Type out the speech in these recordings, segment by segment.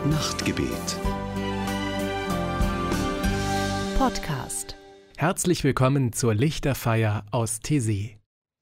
Nachtgebet. Podcast. Herzlich willkommen zur Lichterfeier aus Taizé.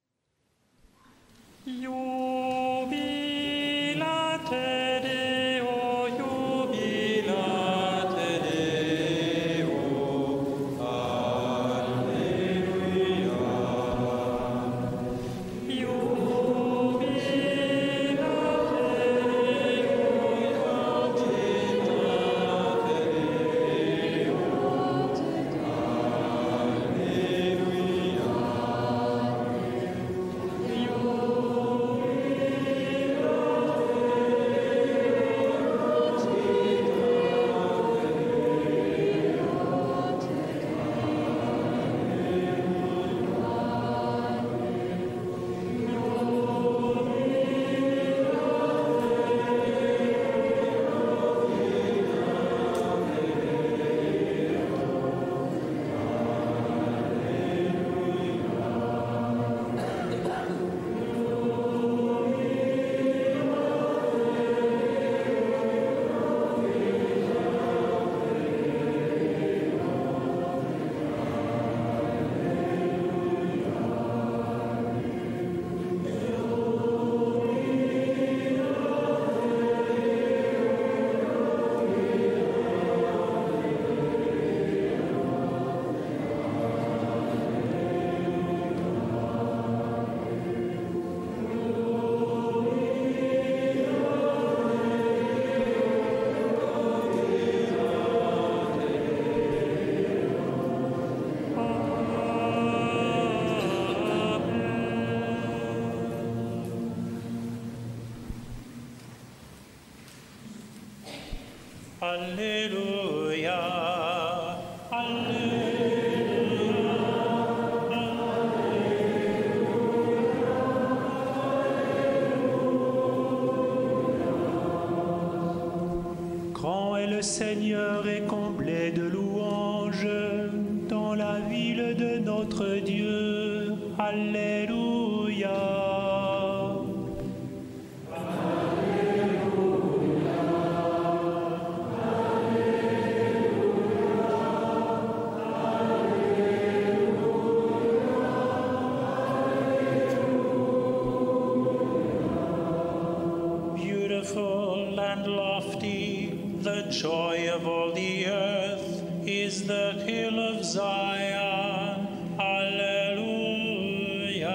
Alléluia, Alléluia, Grand est le Seigneur et comblé de louanges dans la ville de notre Dieu. Alléluia. Beautiful and lofty, the joy of all the earth is the hill of Zion. Alleluia.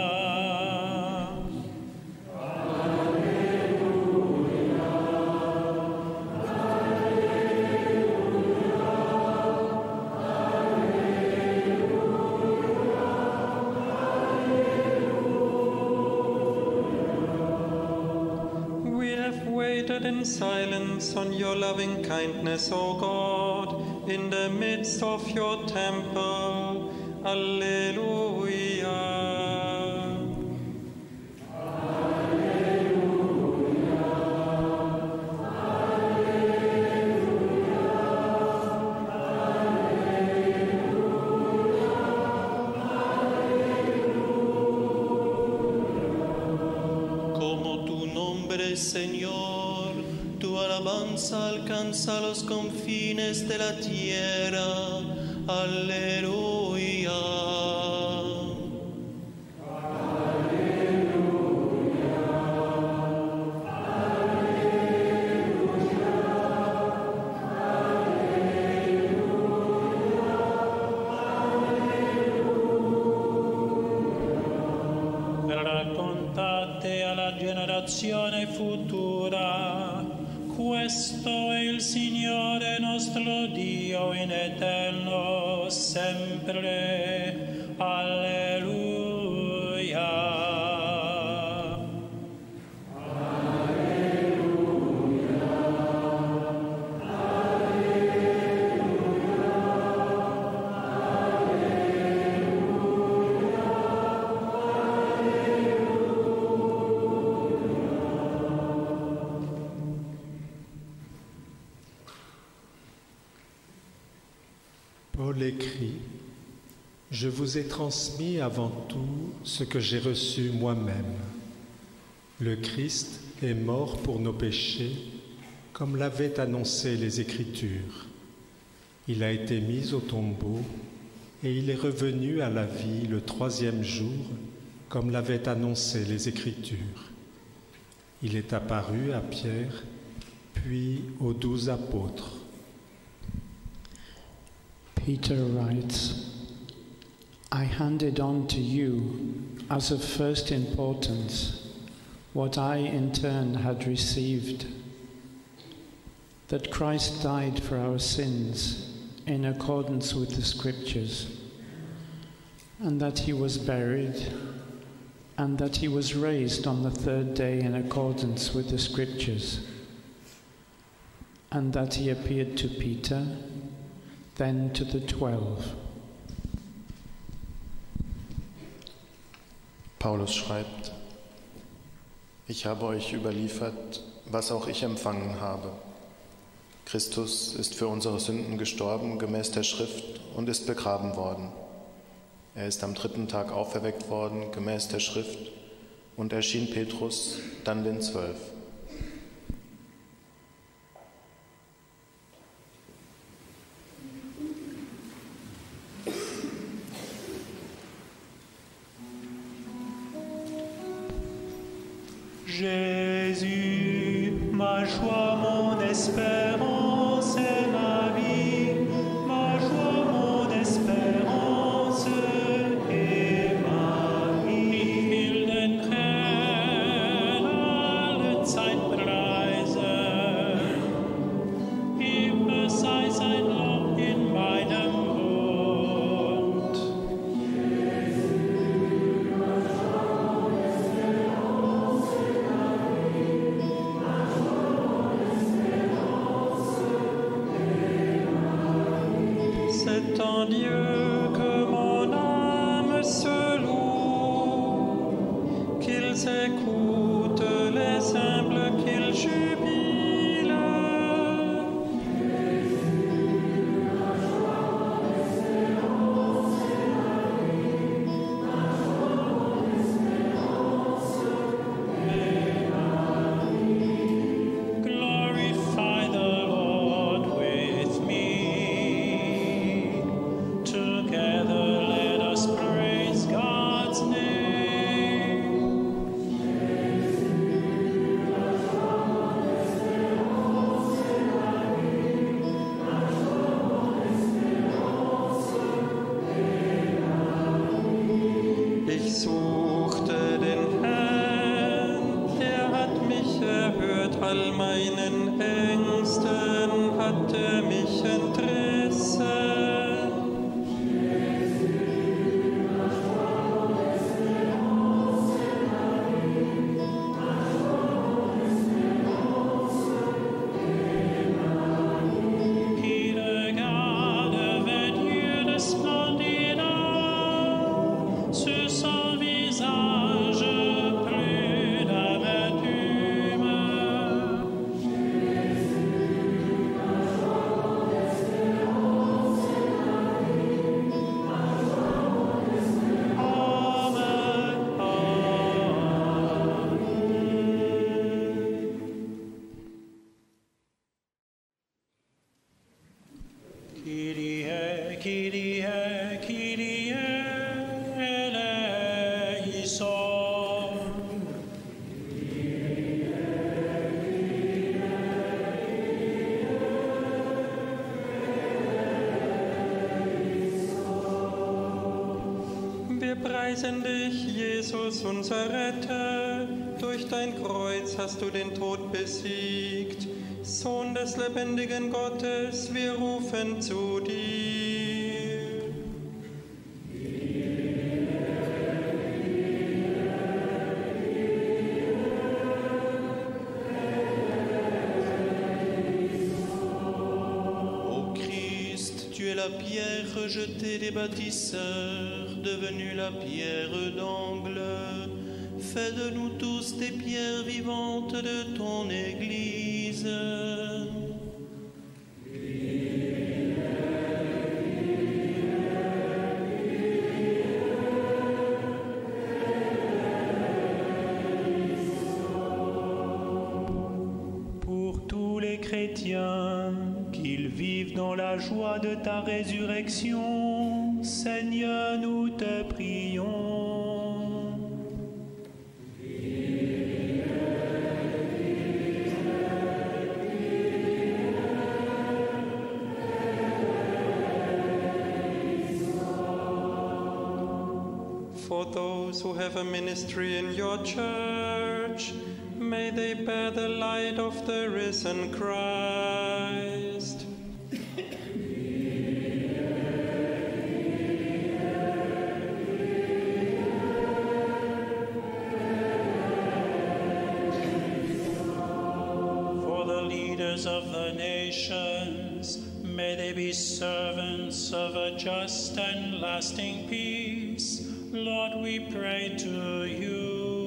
We have waited in silence on your loving kindness, O God, in the midst of your temple. Alleluia. Como tu nombre, Señor, tu alabanza alcanza los confines de la tierra. Aleluya. Raccontate alla generazione futura, questo è il Signore nostro Dio in eterno sempre. Alleluia. Paul écrit : Je vous ai transmis avant tout ce que j'ai reçu moi-même. Le Christ est mort pour nos péchés, comme l'avaient annoncé les Écritures. Il a été mis au tombeau et il est revenu à la vie le 3e jour, comme l'avaient annoncé les Écritures. Il est apparu à Pierre, puis aux 12 apôtres. Peter writes, I handed on to you as of first importance what I in turn had received, that Christ died for our sins in accordance with the Scriptures, and that he was buried, and that he was raised on the 3rd day in accordance with the Scriptures, and that he appeared to Peter, then to the 12. Paulus schreibt, ich habe euch überliefert, was auch ich empfangen habe. Christus ist für unsere Sünden gestorben, gemäß der Schrift, und ist begraben worden. Er ist am 3. Tag auferweckt worden, gemäß der Schrift, und erschien Petrus, dann den 12. Jésus, ma joie, mon espérance et ma vie, ma joie, mon espérance et ma vie. Ich will den Herrn alle Zeit preisen, immer sei sein Lob in meinem Mund. C'est en Dieu que mon âme se loue, qu'ils écoutent les humbles, qu'ils jubilent. Glorify the Lord with me. Together let us praise God's name. Ich suchte den Herrn, der hat mich erhört, all meinen Ängsten hat er mich entrissen. Il regarde vers Dieu de splendide sur son visage plus d'amertume. Amen, amen. Kyrie, Kyrie, Kyrie eleison. Wir preisen dich, Jesus, unser Retter. Durch dein Kreuz hast du den Tod besiegt. Sohn des lebendigen Gottes, wir rufen zu dir. Ô Christ, tu es la pierre rejetée des bâtisseurs, devenue la pierre d'angle. Fais de nous tous des pierres vivantes de ton Église. Pour tous les chrétiens, qu'ils vivent dans la joie de ta résurrection. Seigneur, nous te prions. For those who have a ministry in your church, may they bear the light of the risen Christ. For the leaders of the nations, may they be servants of a just and lasting peace. Lord, we pray to you.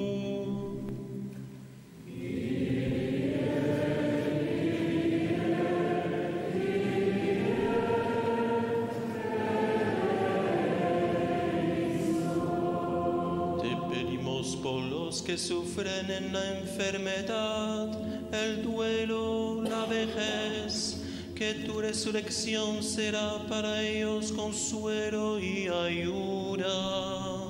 Te pedimos por los que sufren en la enfermedad, el duelo, la vejez, que tu resurrección será para ellos consuelo y ayuda.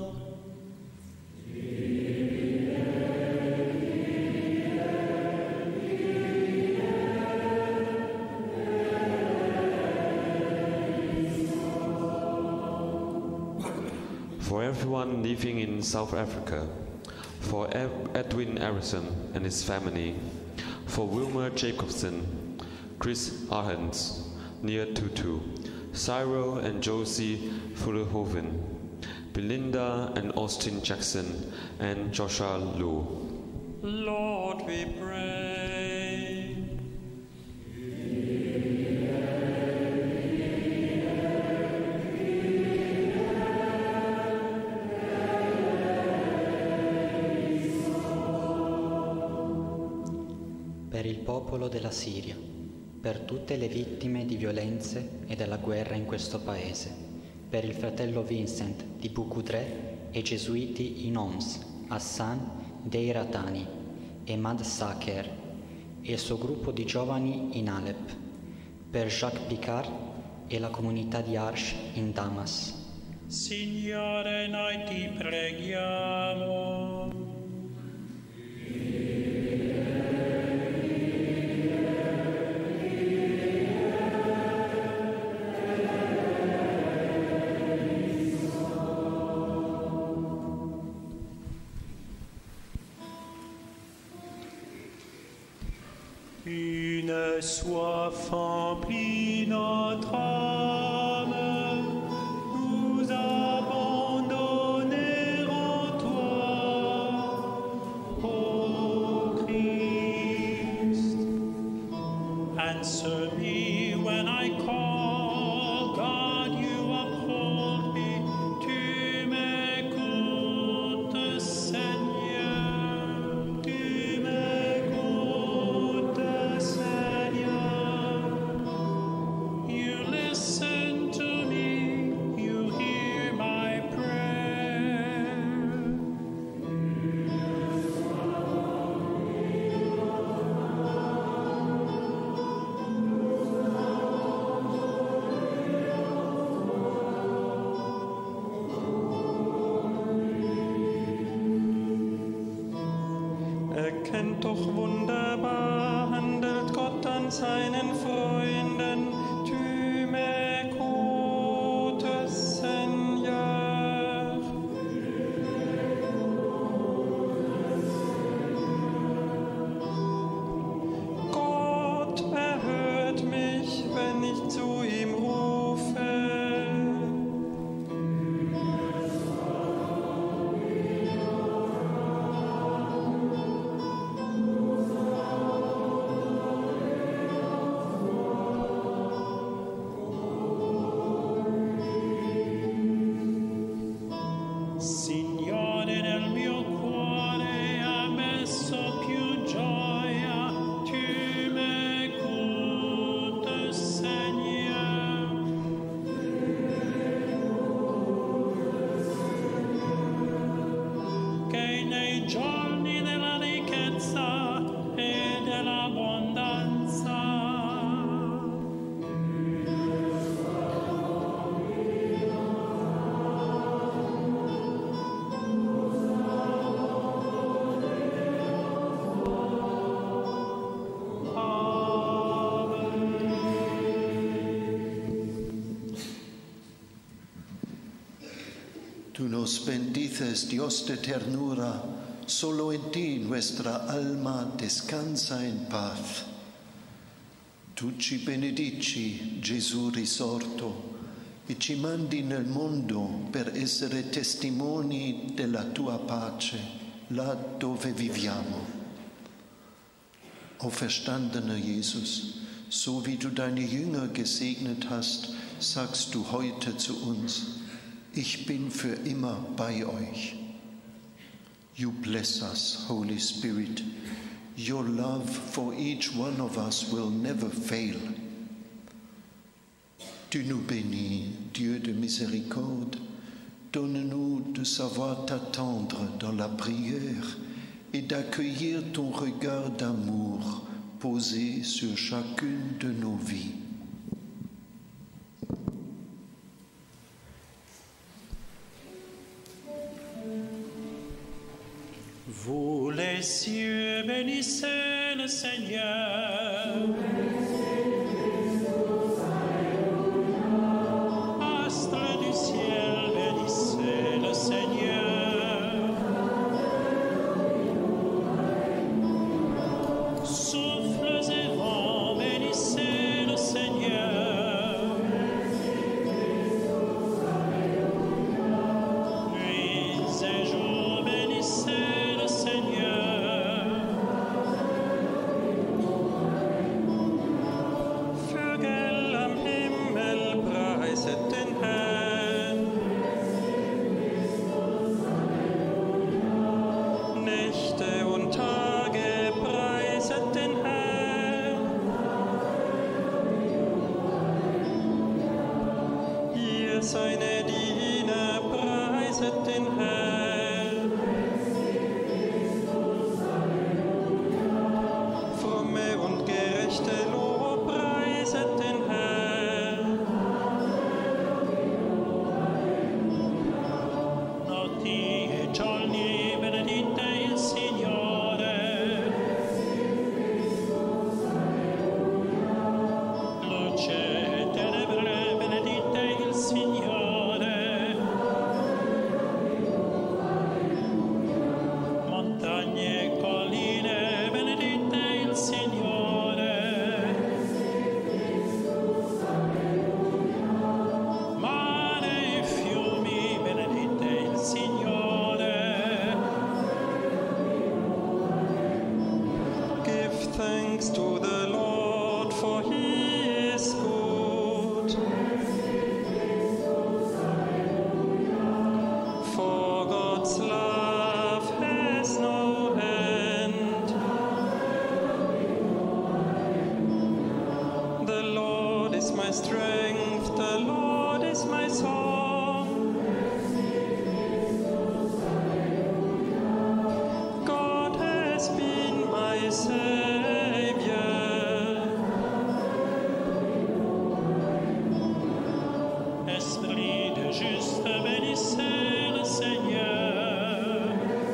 For everyone living in South Africa, for Edwin Harrison and his family, for Wilmer Jacobson, Chris Arends, Nia Tutu, Cyril and Josie Fullerhoven, Belinda and Austin Jackson, and Joshua Liu. Lord, we pray. Per il popolo della Siria, per tutte le vittime di violenze e della guerra in questo paese, per il fratello Vincent di Bukudre e i gesuiti in Homs, Hassan Deiratani e Mad Saker e il suo gruppo di giovani in Alep, per Jacques Picard e la comunità di Arsh in Damas. Signore, noi ti preghiamo. Une soif emplit notre âme, nous abandonner en toi, ô Christ. Answer me when I call, God, you uphold me, tu m'écoutes, Seigneur, tu m'écoutes, Seigneur. You listen to me, you hear my prayer. Erkennt doch wunderbar, handelt Gott an seinen Freunden. Tu m'écoutes, Seigneur. Gott erhört mich, wenn ich zu ihm rufe. Tú nos bendices, Dios de ternura, solo en ti nuestra alma descansa en paz. Tu ci benedici, Gesù risorto, e ci mandi nel mondo per essere testimoni della tua pace, là dove viviamo. Auferstandener Jesus, so wie du deine Jünger gesegnet hast, sagst du heute zu uns, ich bin für immer bei euch. You bless us, Holy Spirit. Your love for each one of us will never fail. Tu nous bénis, Dieu de miséricorde. Donne-nous de savoir t'attendre dans la prière et d'accueillir ton regard d'amour posé sur chacune de nos vies. Vous les cieux, bénissez le Seigneur. Astres du ciel, bénissez le Seigneur. Souffles et vents, bénissez le Seigneur. Nuits et jours, bénissez le Seigneur. Vögel am Himmel, preiset den Herrn. Nächte und Tage, preiset den Herrn. Ihr seine Diener, preiset den Herrn. Fromme und gerechte Lob, preiset den Herrn. Notti e giorni, benedite il Signore. Luce e tenebre, benedite il Signore. Montagne e colline, benedite il Signore. Mare e fiumi, benedite il Signore. Give thanks to the Lord, for he is good. For God's love has no end. The Lord is my strength, the Lord is my song. God has been my Savior. Esprit de juste, bénissez le Seigneur.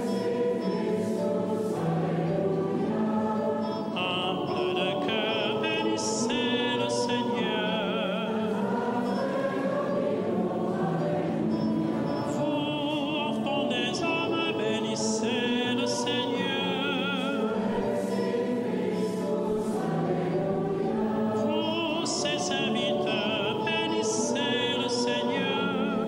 Humble de cœur, bénissez le Seigneur. Vous, enfants des hommes, bénissez le Seigneur. Vous, ses serviteurs, bénissez le Seigneur.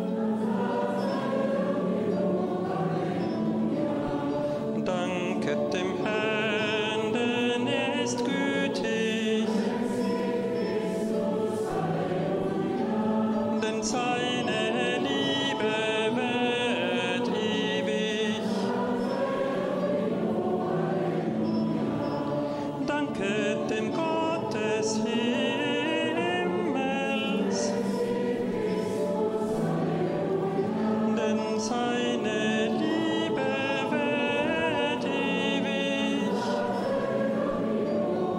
Danket dem Herrn, denn er ist gütig, denn seine Liebe währt ewig. Danket dem Gott des Himmels, denn seine Liebe währt ewig.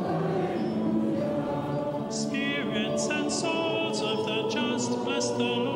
Spirits and souls of the just bless the Lord.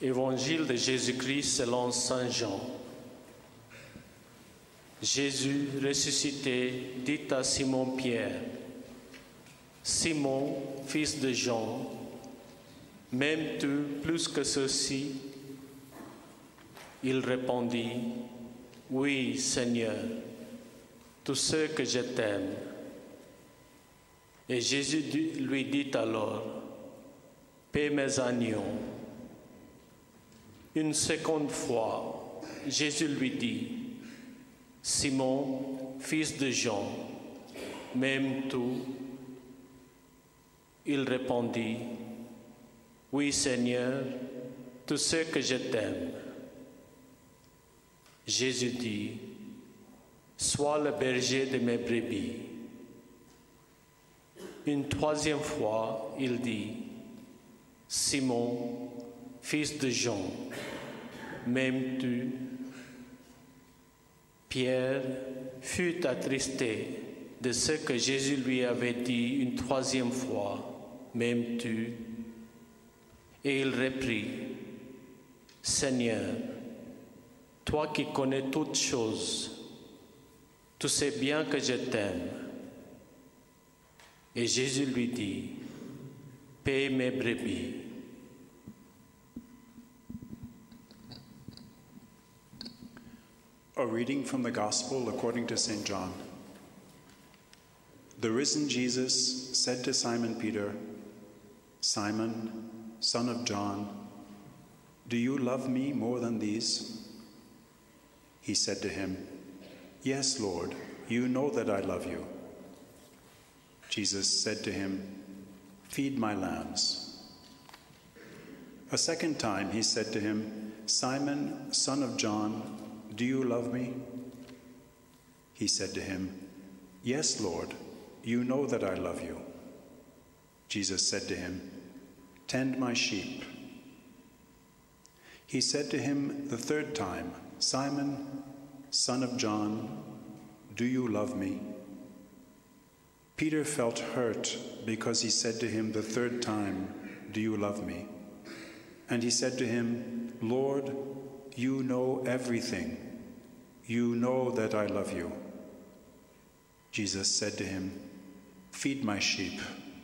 Évangile de Jésus-Christ selon Saint Jean. Jésus ressuscité dit à Simon-Pierre, « Simon, fils de Jean, m'aimes-tu plus que ceux-ci » Il répondit, « Oui, Seigneur, tu sais que je t'aime. » Et Jésus lui dit alors, « Paie mes agneaux. » Une seconde fois, Jésus lui dit, « Simon, fils de Jean, m'aimes-tu » Il répondit, « Oui, Seigneur, tu sais que je t'aime. » Jésus dit, « Sois le berger de mes brebis. » Une troisième fois, il dit, « Simon, fils de Jean, m'aimes-tu » Pierre fut attristé de ce que Jésus lui avait dit une troisième fois, « M'aimes-tu » Et il reprit, « Seigneur, toi qui connais toutes choses, tu sais bien que je t'aime. » Et Jésus lui dit, « Paie mes brebis. » A reading from the Gospel according to St. John. The risen Jesus said to Simon Peter, "Simon, son of John, do you love me more than these?" He said to him, "Yes, Lord, you know that I love you." Jesus said to him, "Feed my lambs." A second time he said to him, "Simon, son of John, do you love me?" He said to him, "Yes, Lord, you know that I love you." Jesus said to him, "Tend my sheep." He said to him the third time, "Simon, son of John, do you love me?" Peter felt hurt because he said to him the third time, "Do you love me?" And he said to him, "Lord, you know everything. You know that I love you." Jesus said to him, "Feed my sheep."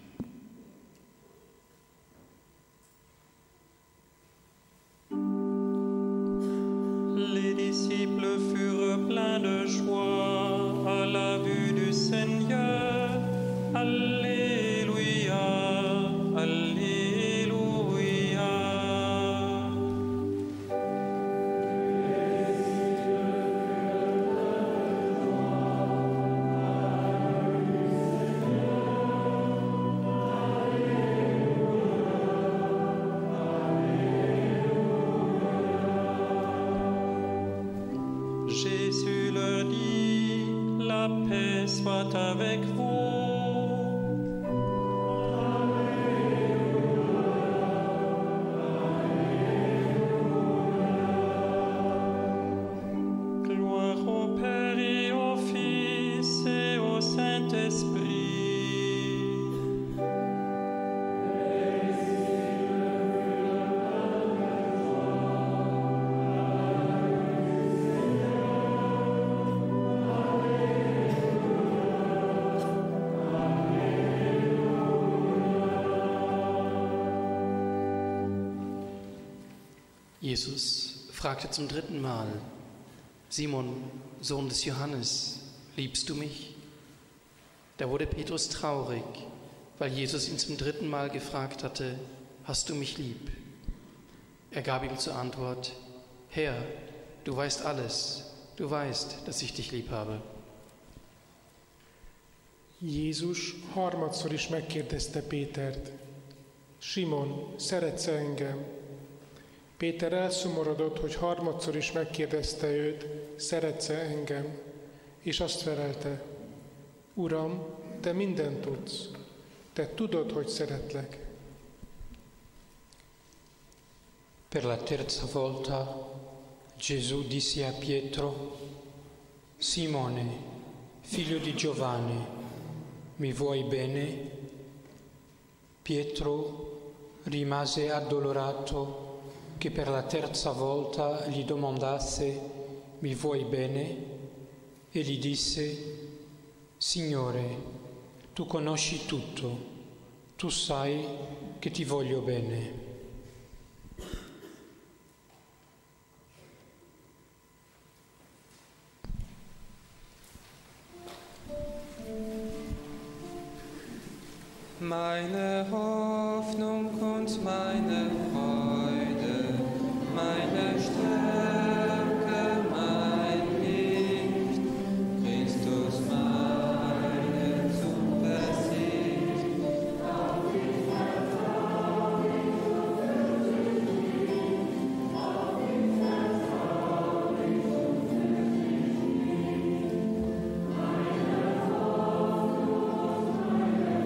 Les disciples furent pleins de joie à la vue du Seigneur. Alléluia, Alléluia. Jésus leur dit, la paix soit avec vous. Gloire au Père et au Fils et au Saint-Esprit. Jesus fragte zum dritten Mal, Simon, Sohn des Johannes, liebst du mich? Da wurde Petrus traurig, weil Jesus ihn zum dritten Mal gefragt hatte, hast du mich lieb? Er gab ihm zur Antwort, Herr, du weißt alles, du weißt, dass ich dich lieb habe. Jézus harmadszor is megkérdezte Pétert, Simon, szeretsz engem? Péter elszomorodott, hogy harmadszor is megkérdezte őt, szeretsz engem? És azt felelte, Uram, te mindent tudsz, te tudod, hogy szeretlek. Per la terza volta Gesù disse a Pietro, Simone, figlio di Giovanni, mi vuoi bene? Pietro rimase addolorato che per la terza volta gli domandasse: mi vuoi bene? E gli disse: Signore, tu conosci tutto, tu sai che ti voglio bene. Meine Hoffnung und meine Freude, meine Stärke, mein Licht, Christus meine Zuversicht, auf dich vertrau ich und fürchte mich, auf dich vertrau ich und fürchte mich, meine Hoffnung und meine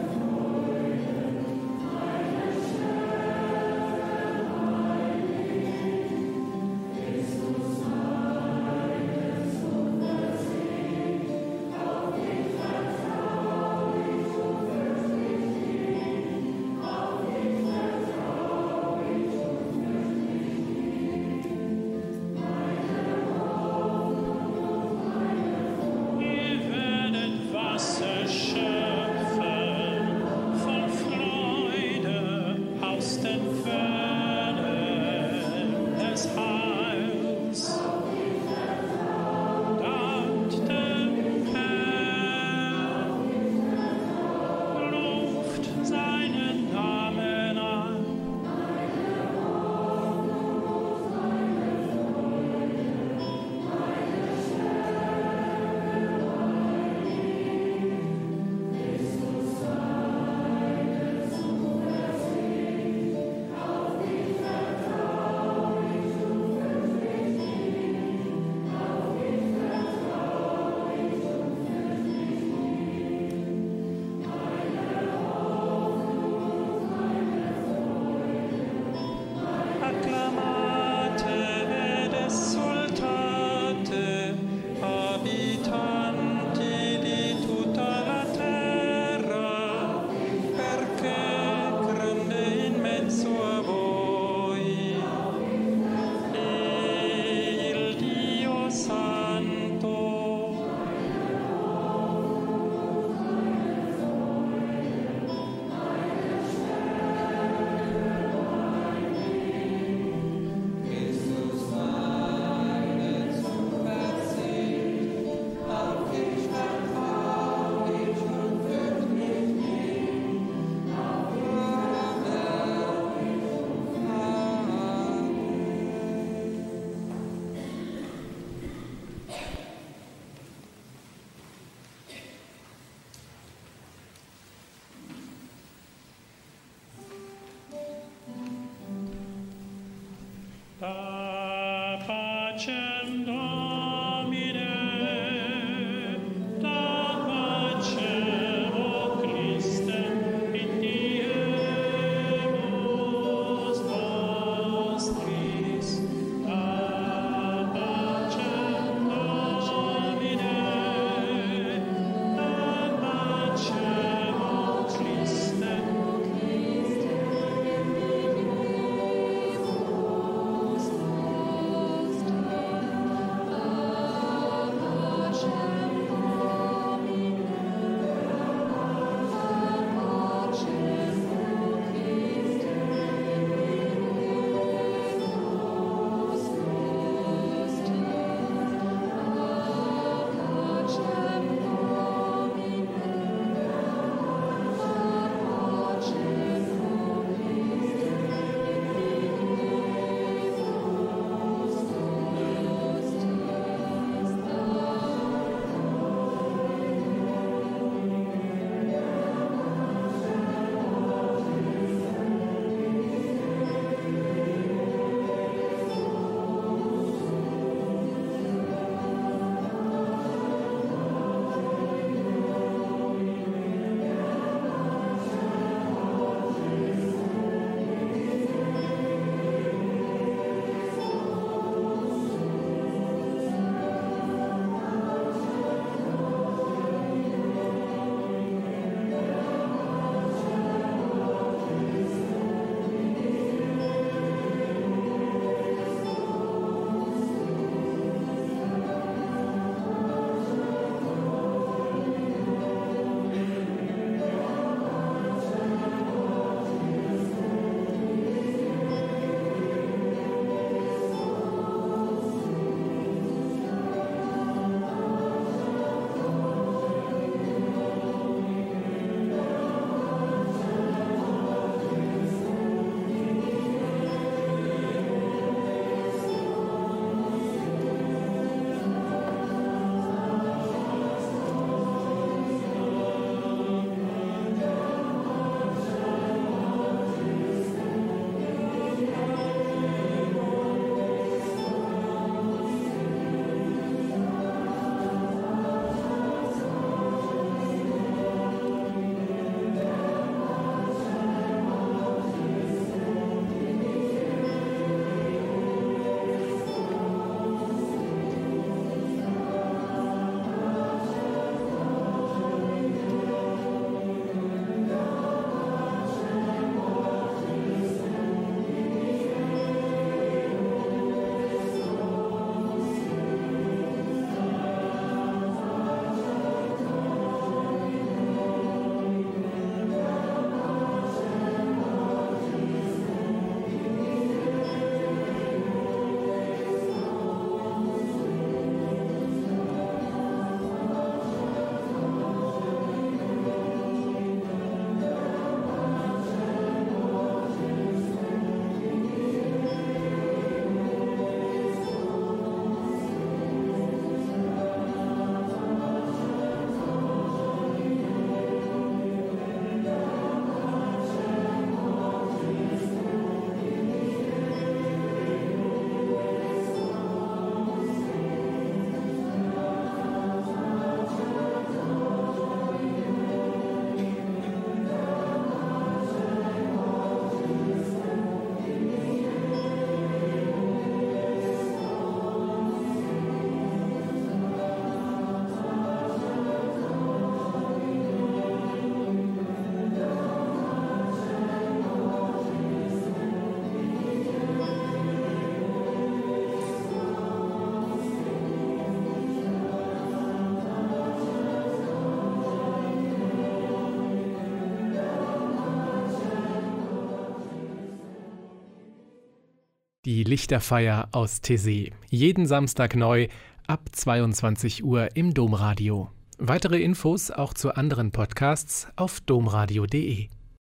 Die Lichterfeier aus Taizé. Jeden Samstag neu ab 22 Uhr im Domradio. Weitere Infos auch zu anderen Podcasts auf domradio.de.